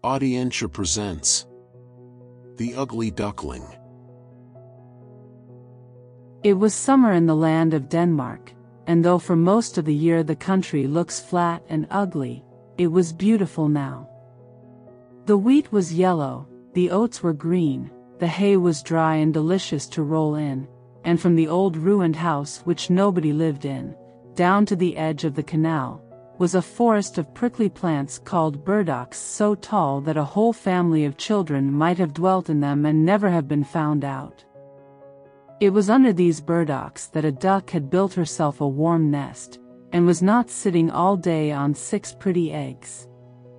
Audientia presents The Ugly Duckling. It was summer in the land of Denmark, and though for most of the year the country looks flat and ugly, it was beautiful now. The wheat was yellow, the oats were green, the hay was dry and delicious to roll in, and from the old ruined house which nobody lived in, down to the edge of the canal, was a forest of prickly plants called burdocks so tall that a whole family of children might have dwelt in them and never have been found out. It was under these burdocks that a duck had built herself a warm nest, and was not sitting all day on 6 pretty eggs.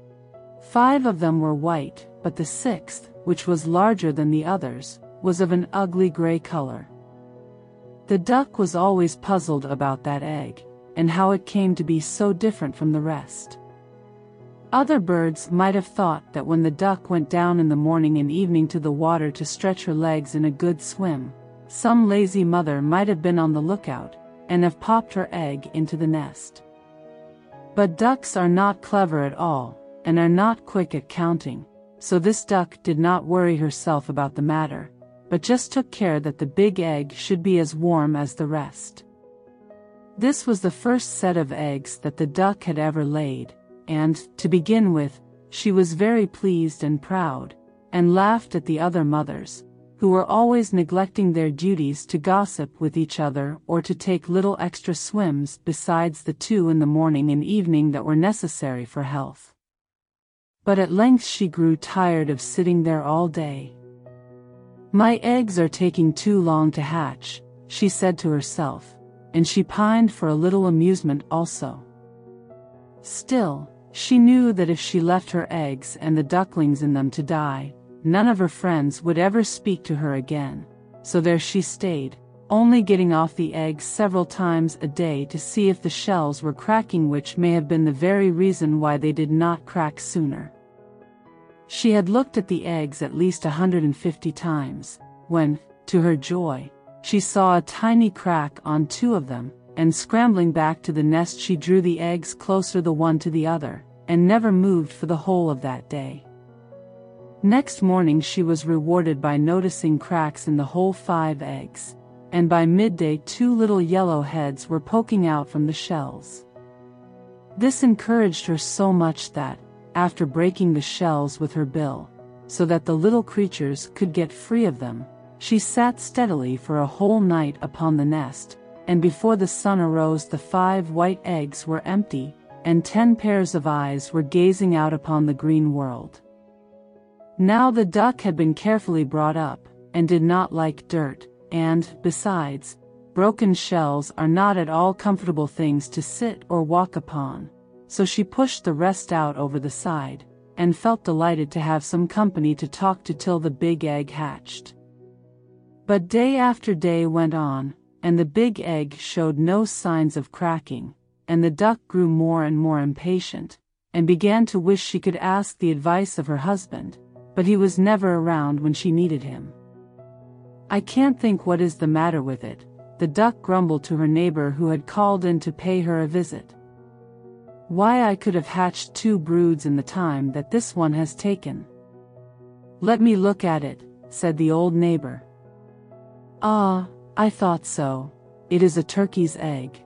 5 of them were white, but the 6th, which was larger than the others, was of an ugly gray color. The duck was always puzzled about that egg, and how it came to be so different from the rest. Other birds might have thought that when the duck went down in the morning and evening to the water to stretch her legs in a good swim, some lazy mother might have been on the lookout, and have popped her egg into the nest. But ducks are not clever at all, and are not quick at counting, so this duck did not worry herself about the matter, but just took care that the big egg should be as warm as the rest. This was the first set of eggs that the duck had ever laid, and, to begin with, she was very pleased and proud, and laughed at the other mothers, who were always neglecting their duties to gossip with each other or to take little extra swims besides the 2 in the morning and evening that were necessary for health. But at length she grew tired of sitting there all day. "My eggs are taking too long to hatch," she said to herself, and she pined for a little amusement also. Still, she knew that if she left her eggs and the ducklings in them to die, none of her friends would ever speak to her again, so there she stayed, only getting off the eggs several times a day to see if the shells were cracking, which may have been the very reason why they did not crack sooner. She had looked at the eggs at least 150 times, when, to her joy, she saw a tiny crack on 2 of them, and scrambling back to the nest she drew the eggs closer the one to the other, and never moved for the whole of that day. Next morning she was rewarded by noticing cracks in the whole 5 eggs, and by midday 2 little yellow heads were poking out from the shells. This encouraged her so much that, after breaking the shells with her bill, so that the little creatures could get free of them, she sat steadily for a whole night upon the nest, and before the sun arose the 5 white eggs were empty, and 10 pairs of eyes were gazing out upon the green world. Now the duck had been carefully brought up, and did not like dirt, and, besides, broken shells are not at all comfortable things to sit or walk upon, so she pushed the rest out over the side, and felt delighted to have some company to talk to till the big egg hatched. But day after day went on, and the big egg showed no signs of cracking, and the duck grew more and more impatient, and began to wish she could ask the advice of her husband, but he was never around when she needed him. "I can't think what is the matter with it," the duck grumbled to her neighbor who had called in to pay her a visit. "Why, I could have hatched 2 broods in the time that this one has taken." "Let me look at it," said the old neighbor. "Ah, I thought so. It is a turkey's egg.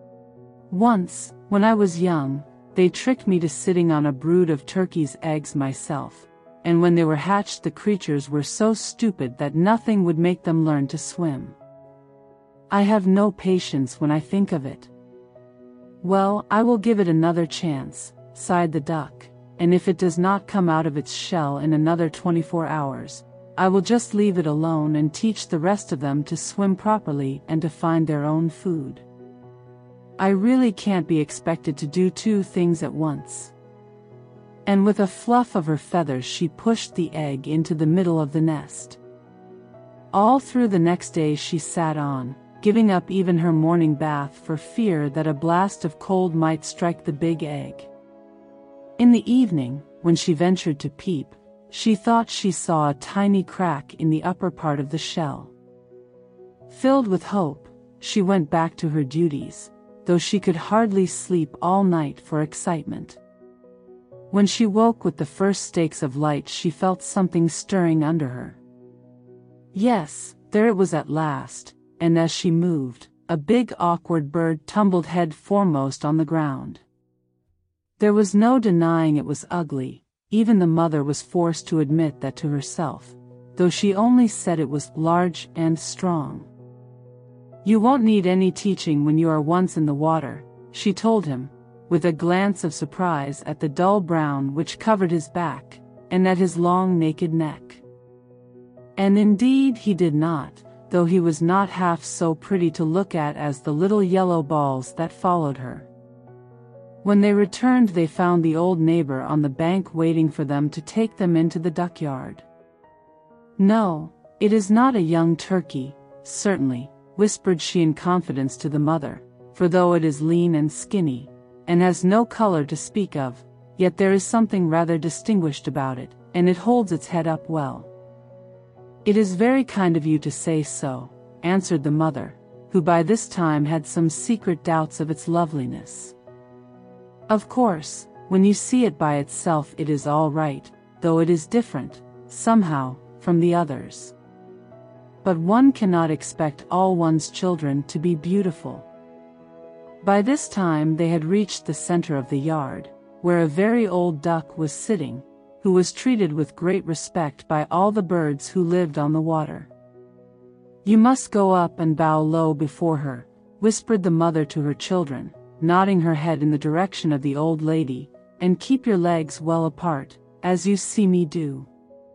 Once, when I was young, they tricked me to sitting on a brood of turkey's eggs myself, and when they were hatched the creatures were so stupid that nothing would make them learn to swim. I have no patience when I think of it." "Well, I will give it another chance," sighed the duck, "and if it does not come out of its shell in another 24 hours, I will just leave it alone and teach the rest of them to swim properly and to find their own food. I really can't be expected to do 2 things at once." And with a fluff of her feathers she pushed the egg into the middle of the nest. All through the next day she sat on, giving up even her morning bath for fear that a blast of cold might strike the big egg. In the evening, when she ventured to peep, she thought she saw a tiny crack in the upper part of the shell. Filled with hope, she went back to her duties, though she could hardly sleep all night for excitement. When she woke with the first streaks of light, she felt something stirring under her. Yes, there it was at last, and as she moved, a big awkward bird tumbled head foremost on the ground. There was no denying it was ugly. Even the mother was forced to admit that to herself, though she only said it was large and strong. "You won't need any teaching when you are once in the water," she told him, with a glance of surprise at the dull brown which covered his back, and at his long naked neck. And indeed he did not, though he was not half so pretty to look at as the little yellow balls that followed her. When they returned, they found the old neighbor on the bank waiting for them to take them into the duckyard. "No, it is not a young turkey, certainly," whispered she in confidence to the mother, "for though it is lean and skinny, and has no color to speak of, yet there is something rather distinguished about it, and it holds its head up well." "It is very kind of you to say so," answered the mother, who by this time had some secret doubts of its loveliness. "Of course, when you see it by itself it is all right, though it is different, somehow, from the others. But one cannot expect all one's children to be beautiful." By this time they had reached the center of the yard, where a very old duck was sitting, who was treated with great respect by all the birds who lived on the water. "You must go up and bow low before her," whispered the mother to her children, nodding her head in the direction of the old lady, "and keep your legs well apart, as you see me do.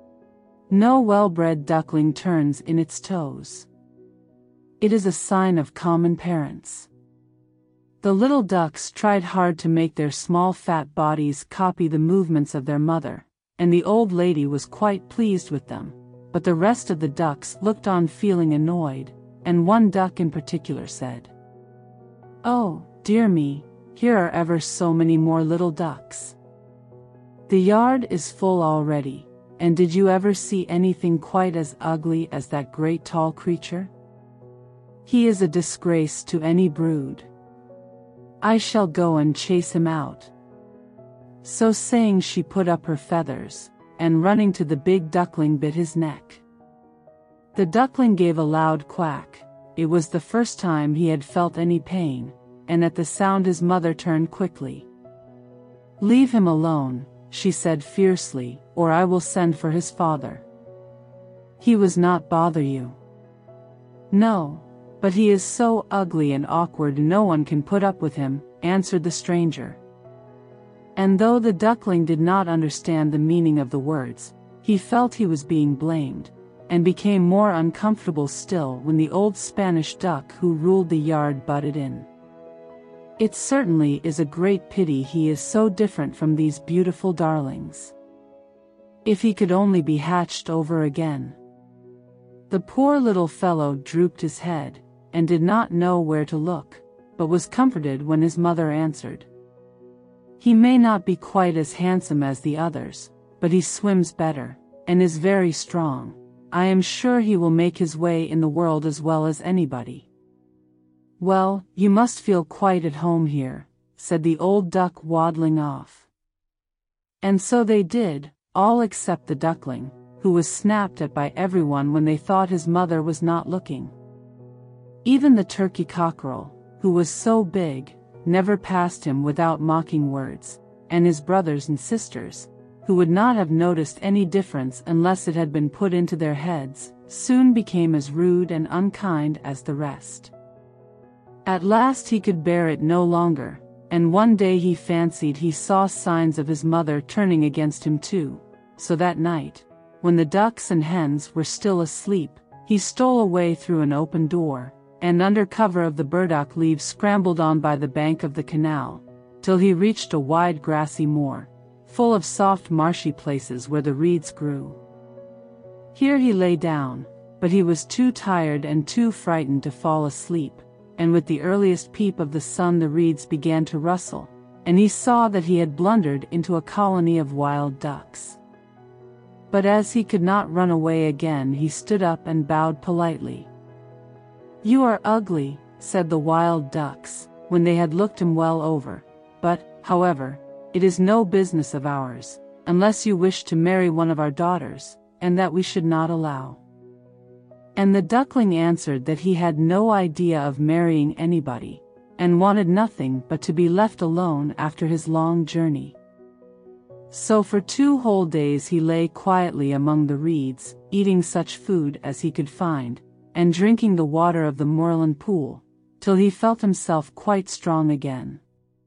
No well-bred duckling turns in its toes. It is a sign of common parents." The little ducks tried hard to make their small fat bodies copy the movements of their mother, and the old lady was quite pleased with them, but the rest of the ducks looked on feeling annoyed, and one duck in particular said, "Oh, dear me, here are ever so many more little ducks. The yard is full already, and did you ever see anything quite as ugly as that great tall creature? He is a disgrace to any brood. I shall go and chase him out." So saying, she put up her feathers, and running to the big duckling bit his neck. The duckling gave a loud quack. It was the first time he had felt any pain, and at the sound his mother turned quickly. "Leave him alone," she said fiercely, "or I will send for his father. He was not bother you." "No, but he is so ugly and awkward no one can put up with him," answered the stranger. And though the duckling did not understand the meaning of the words, he felt he was being blamed, and became more uncomfortable still when the old Spanish duck who ruled the yard butted in. "It certainly is a great pity he is so different from these beautiful darlings. If he could only be hatched over again." The poor little fellow drooped his head, and did not know where to look, but was comforted when his mother answered, "He may not be quite as handsome as the others, but he swims better, and is very strong. I am sure he will make his way in the world as well as anybody." "Well, you must feel quite at home here," said the old duck, waddling off. And so they did, all except the duckling, who was snapped at by everyone when they thought his mother was not looking. Even the turkey cockerel, who was so big, never passed him without mocking words, and his brothers and sisters, who would not have noticed any difference unless it had been put into their heads, soon became as rude and unkind as the rest. At last he could bear it no longer, and one day he fancied he saw signs of his mother turning against him too, so that night, when the ducks and hens were still asleep, he stole away through an open door, and under cover of the burdock leaves scrambled on by the bank of the canal, till he reached a wide grassy moor, full of soft marshy places where the reeds grew. Here he lay down, but he was too tired and too frightened to fall asleep, and with the earliest peep of the sun the reeds began to rustle, and he saw that he had blundered into a colony of wild ducks. But as he could not run away again, he stood up and bowed politely. "You are ugly," said the wild ducks, when they had looked him well over, "but, however, "It is no business of ours, unless you wish to marry one of our daughters, and that we should not allow." And the duckling answered that he had no idea of marrying anybody, and wanted nothing but to be left alone after his long journey. So for 2 whole days he lay quietly among the reeds, eating such food as he could find, and drinking the water of the moorland pool, till he felt himself quite strong again.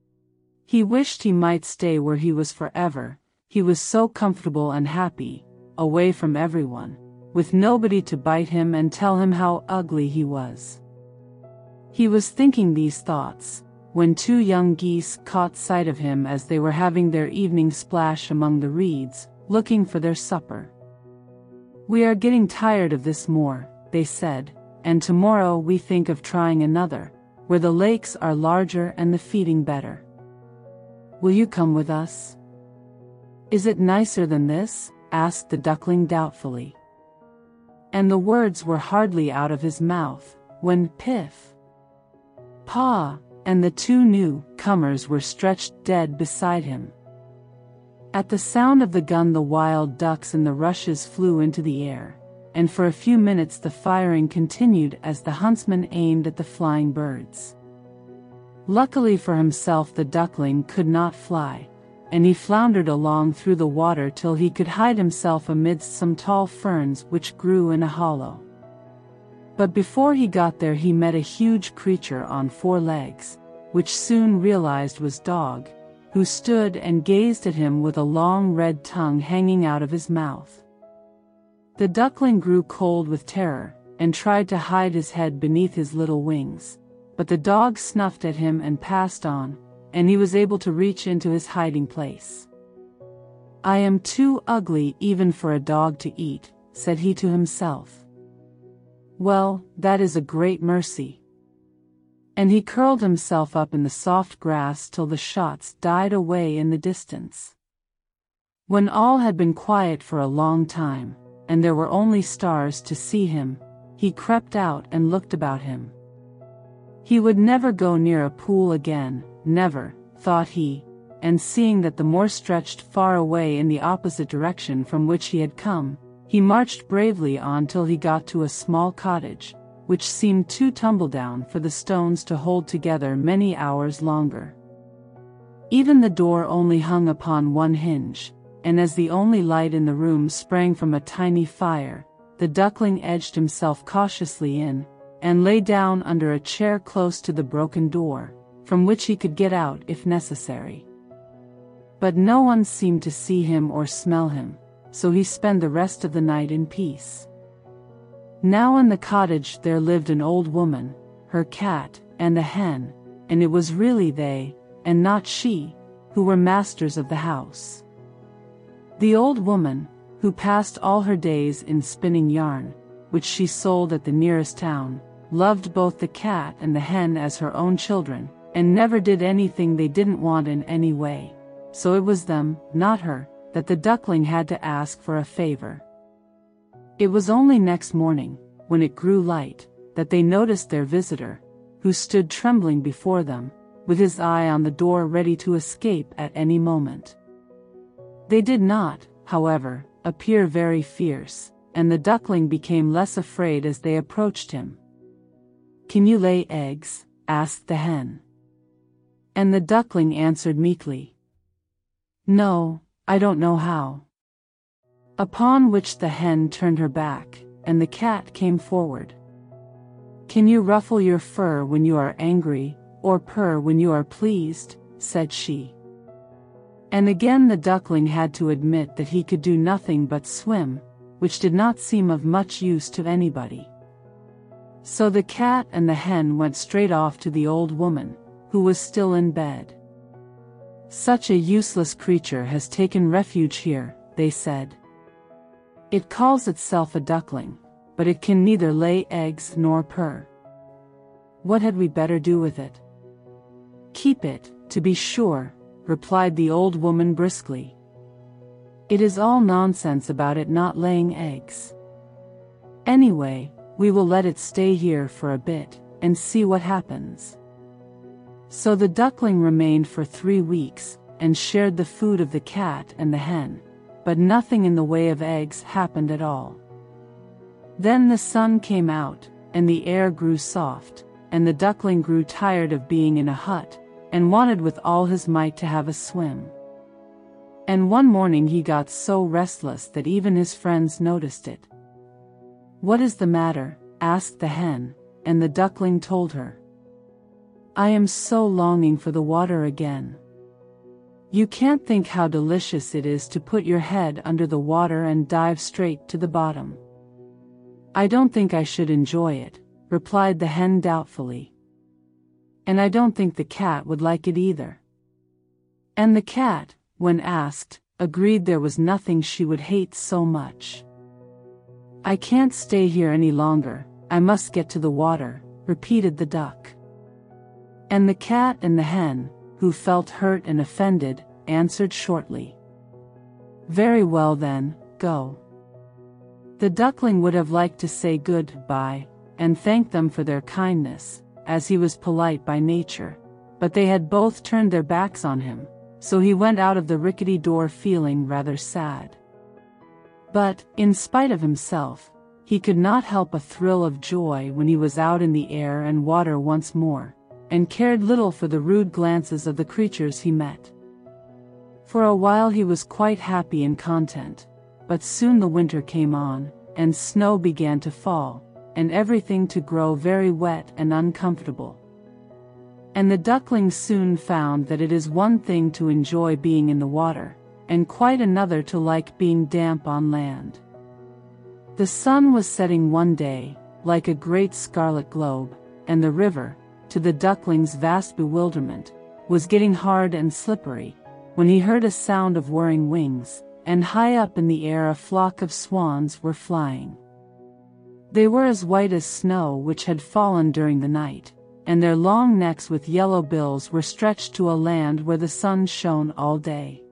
He wished he might stay where he was forever. He was so comfortable and happy, away from everyone, with nobody to bite him and tell him how ugly he was. He was thinking these thoughts, when 2 young geese caught sight of him as they were having their evening splash among the reeds, looking for their supper. "We are getting tired of this moor," they said, "and tomorrow we think of trying another, where the lakes are larger and the feeding better. Will you come with us?" "Is it nicer than this?" asked the duckling doubtfully. And the words were hardly out of his mouth, when piff! Paw! And the 2 new-comers were stretched dead beside him. At the sound of the gun the wild ducks in the rushes flew into the air, and for a few minutes the firing continued as the huntsman aimed at the flying birds. Luckily for himself the duckling could not fly, and he floundered along through the water till he could hide himself amidst some tall ferns which grew in a hollow. But before he got there he met a huge creature on 4 legs, which soon realized was Dog, who stood and gazed at him with a long red tongue hanging out of his mouth. The duckling grew cold with terror, and tried to hide his head beneath his little wings, but the dog snuffed at him and passed on, and he was able to reach into his hiding place. "I am too ugly even for a dog to eat," said he to himself. "Well, that is a great mercy." And he curled himself up in the soft grass till the shots died away in the distance. When all had been quiet for a long time, and there were only stars to see him, he crept out and looked about him. He would never go near a pool again, never, thought he, and seeing that the moor stretched far away in the opposite direction from which he had come, he marched bravely on till he got to a small cottage, which seemed too tumbledown for the stones to hold together many hours longer. Even the door only hung upon 1 hinge, and as the only light in the room sprang from a tiny fire, the duckling edged himself cautiously in, and lay down under a chair close to the broken door, from which he could get out if necessary. But no one seemed to see him or smell him, so he spent the rest of the night in peace. Now in the cottage there lived an old woman, her cat, and a hen, and it was really they, and not she, who were masters of the house. The old woman, who passed all her days in spinning yarn, which she sold at the nearest town, loved both the cat and the hen as her own children, and never did anything they didn't want in any way, so it was them, not her, that the duckling had to ask for a favor. It was only next morning, when it grew light, that they noticed their visitor, who stood trembling before them, with his eye on the door ready to escape at any moment. They did not, however, appear very fierce, and the duckling became less afraid as they approached him. "Can you lay eggs?" asked the hen. And the duckling answered meekly, "No, I don't know how." Upon which the hen turned her back, and the cat came forward. "Can you ruffle your fur when you are angry, or purr when you are pleased?" said she. And again the duckling had to admit that he could do nothing but swim, which did not seem of much use to anybody. So the cat and the hen went straight off to the old woman, who was still in bed. "Such a useless creature has taken refuge here," they said. "It calls itself a duckling, but it can neither lay eggs nor purr. What had we better do with it?" "Keep it, to be sure," replied the old woman briskly. "It is all nonsense about it not laying eggs. Anyway, we will let it stay here for a bit, and see what happens." So the duckling remained for 3 weeks, and shared the food of the cat and the hen, but nothing in the way of eggs happened at all. Then the sun came out, and the air grew soft, and the duckling grew tired of being in a hut, and wanted with all his might to have a swim. And one morning he got so restless that even his friends noticed it. "What is the matter?" asked the hen, and the duckling told her. "I am so longing for the water again. You can't think how delicious it is to put your head under the water and dive straight to the bottom." "I don't think I should enjoy it," replied the hen doubtfully. "And I don't think the cat would like it either." And the cat, when asked, agreed there was nothing she would hate so much. "I can't stay here any longer, I must get to the water," repeated the duck. And the cat and the hen, who felt hurt and offended, answered shortly, "Very well then, go." The duckling would have liked to say goodbye, and thank them for their kindness, as he was polite by nature, but they had both turned their backs on him, so he went out of the rickety door feeling rather sad. But, in spite of himself, he could not help a thrill of joy when he was out in the air and water once more, and cared little for the rude glances of the creatures he met. For a while he was quite happy and content, but soon the winter came on, and snow began to fall, and everything to grow very wet and uncomfortable. And the duckling soon found that it is one thing to enjoy being in the water, and quite another to like being damp on land. The sun was setting one day, like a great scarlet globe, and the river, to the duckling's vast bewilderment, was getting hard and slippery, when he heard a sound of whirring wings, and high up in the air a flock of swans were flying. They were as white as snow which had fallen during the night, and their long necks with yellow bills were stretched to a land where the sun shone all day.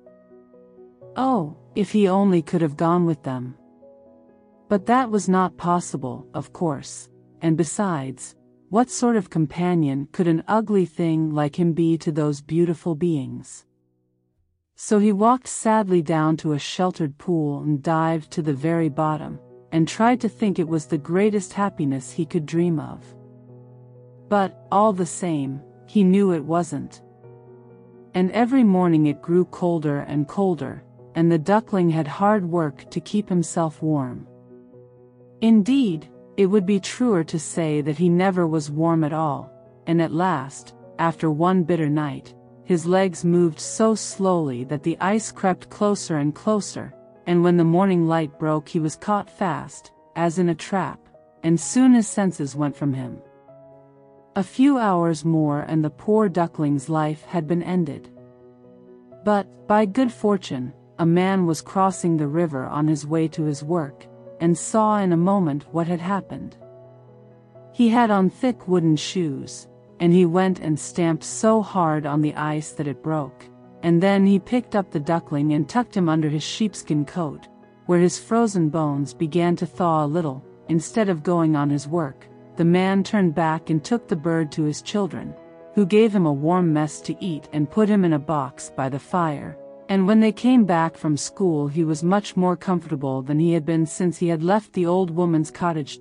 Oh, if he only could have gone with them! But that was not possible, of course, and besides, what sort of companion could an ugly thing like him be to those beautiful beings? So he walked sadly down to a sheltered pool and dived to the very bottom, and tried to think it was the greatest happiness he could dream of. But, all the same, he knew it wasn't. And every morning it grew colder and colder, and the duckling had hard work to keep himself warm. Indeed, it would be truer to say that he never was warm at all, and at last, after one bitter night, his legs moved so slowly that the ice crept closer and closer, and when the morning light broke he was caught fast, as in a trap, and soon his senses went from him. A few hours more and the poor duckling's life had been ended. But, by good fortune, a man was crossing the river on his way to his work, and saw in a moment what had happened. He had on thick wooden shoes, and he went and stamped so hard on the ice that it broke, and then he picked up the duckling and tucked him under his sheepskin coat, where his frozen bones began to thaw a little. Instead of going on his work, the man turned back and took the bird to his children, who gave him a warm mess to eat and put him in a box by the fire, and when they came back from school he was much more comfortable than he had been since he had left the old woman's cottage.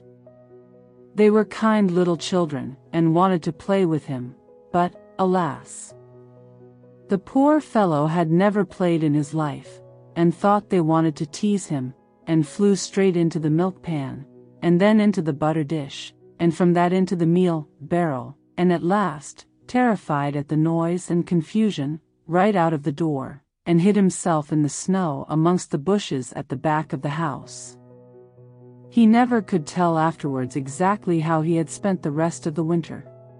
They were kind little children, and wanted to play with him, but, alas! The poor fellow had never played in his life, and thought they wanted to tease him, and flew straight into the milk pan, and then into the butter dish, and from that into the meal barrel, and at last, terrified at the noise and confusion, right out of the door, and hid himself in the snow amongst the bushes at the back of the house. He never could tell afterwards exactly how he had spent the rest of the winter.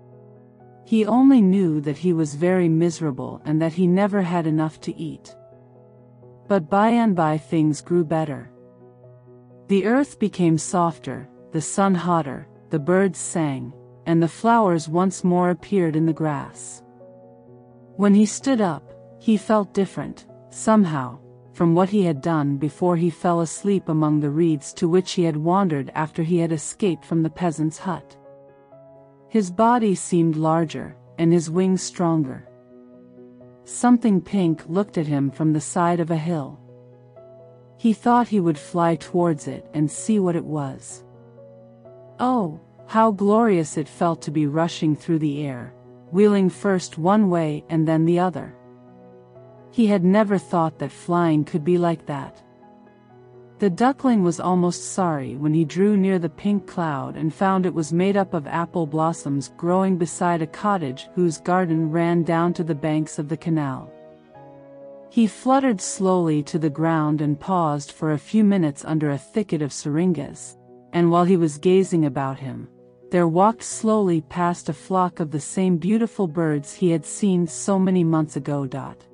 He only knew that he was very miserable and that he never had enough to eat. But by and by things grew better. The earth became softer, the sun hotter, the birds sang, and the flowers once more appeared in the grass. When he stood up, he felt different, somehow, from what he had done before he fell asleep among the reeds to which he had wandered after he had escaped from the peasant's hut. His body seemed larger, and his wings stronger. something pink looked at him from the side of a hill. He thought he would fly towards it and see what it was. Oh, how glorious it felt to be rushing through the air, wheeling first one way and then the other. He had never thought that flying could be like that. The duckling was almost sorry when he drew near the pink cloud and found it was made up of apple blossoms growing beside a cottage whose garden ran down to the banks of the canal. He fluttered slowly to the ground and paused for a few minutes under a thicket of syringas, and while he was gazing about him, there walked slowly past a flock of the same beautiful birds he had seen so many months ago.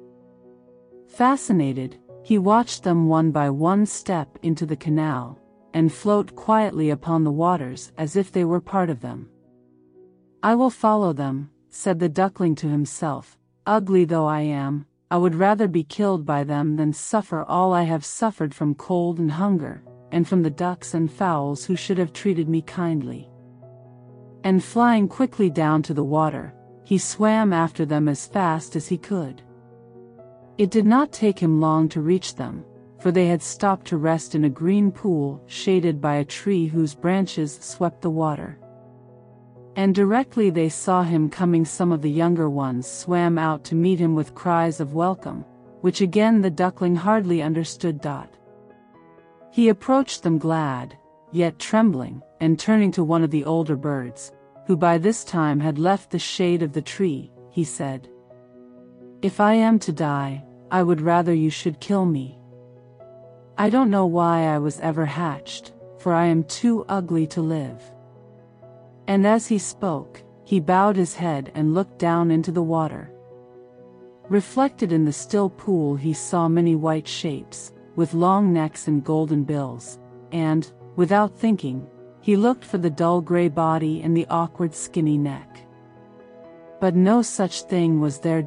Fascinated, he watched them one by one step into the canal, and float quietly upon the waters as if they were part of them. "I will follow them," said the duckling to himself. "Ugly though I am, I would rather be killed by them than suffer all I have suffered from cold and hunger, and from the ducks and fowls who should have treated me kindly." And flying quickly down to the water, he swam after them as fast as he could. It did not take him long to reach them, for they had stopped to rest in a green pool shaded by a tree whose branches swept the water. And directly they saw him coming, some of the younger ones swam out to meet him with cries of welcome, which again the duckling hardly understood. He approached them glad, yet trembling, and turning to one of the older birds, who by this time had left the shade of the tree, he said, "If I am to die, I would rather you should kill me. I don't know why I was ever hatched, for I am too ugly to live." And as he spoke, he bowed his head and looked down into the water. Reflected in the still pool he saw many white shapes, with long necks and golden bills, and, without thinking, he looked for the dull gray body and the awkward skinny neck. But no such thing was there.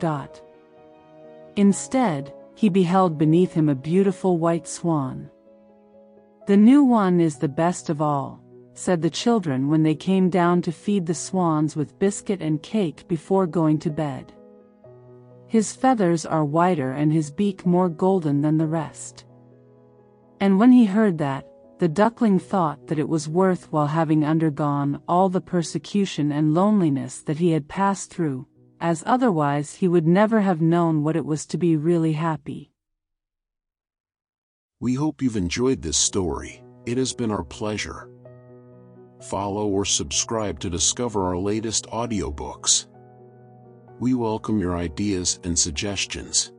Instead, he beheld beneath him a beautiful white swan. "The new one is the best of all," said the children when they came down to feed the swans with biscuit and cake before going to bed. "His feathers are whiter and his beak more golden than the rest." And when he heard that, the duckling thought that it was worth while, having undergone all the persecution and loneliness that he had passed through, as otherwise he would never have known what it was to be really happy. We hope you've enjoyed this story. It has been our pleasure. Follow or subscribe to discover our latest audiobooks. We welcome your ideas and suggestions.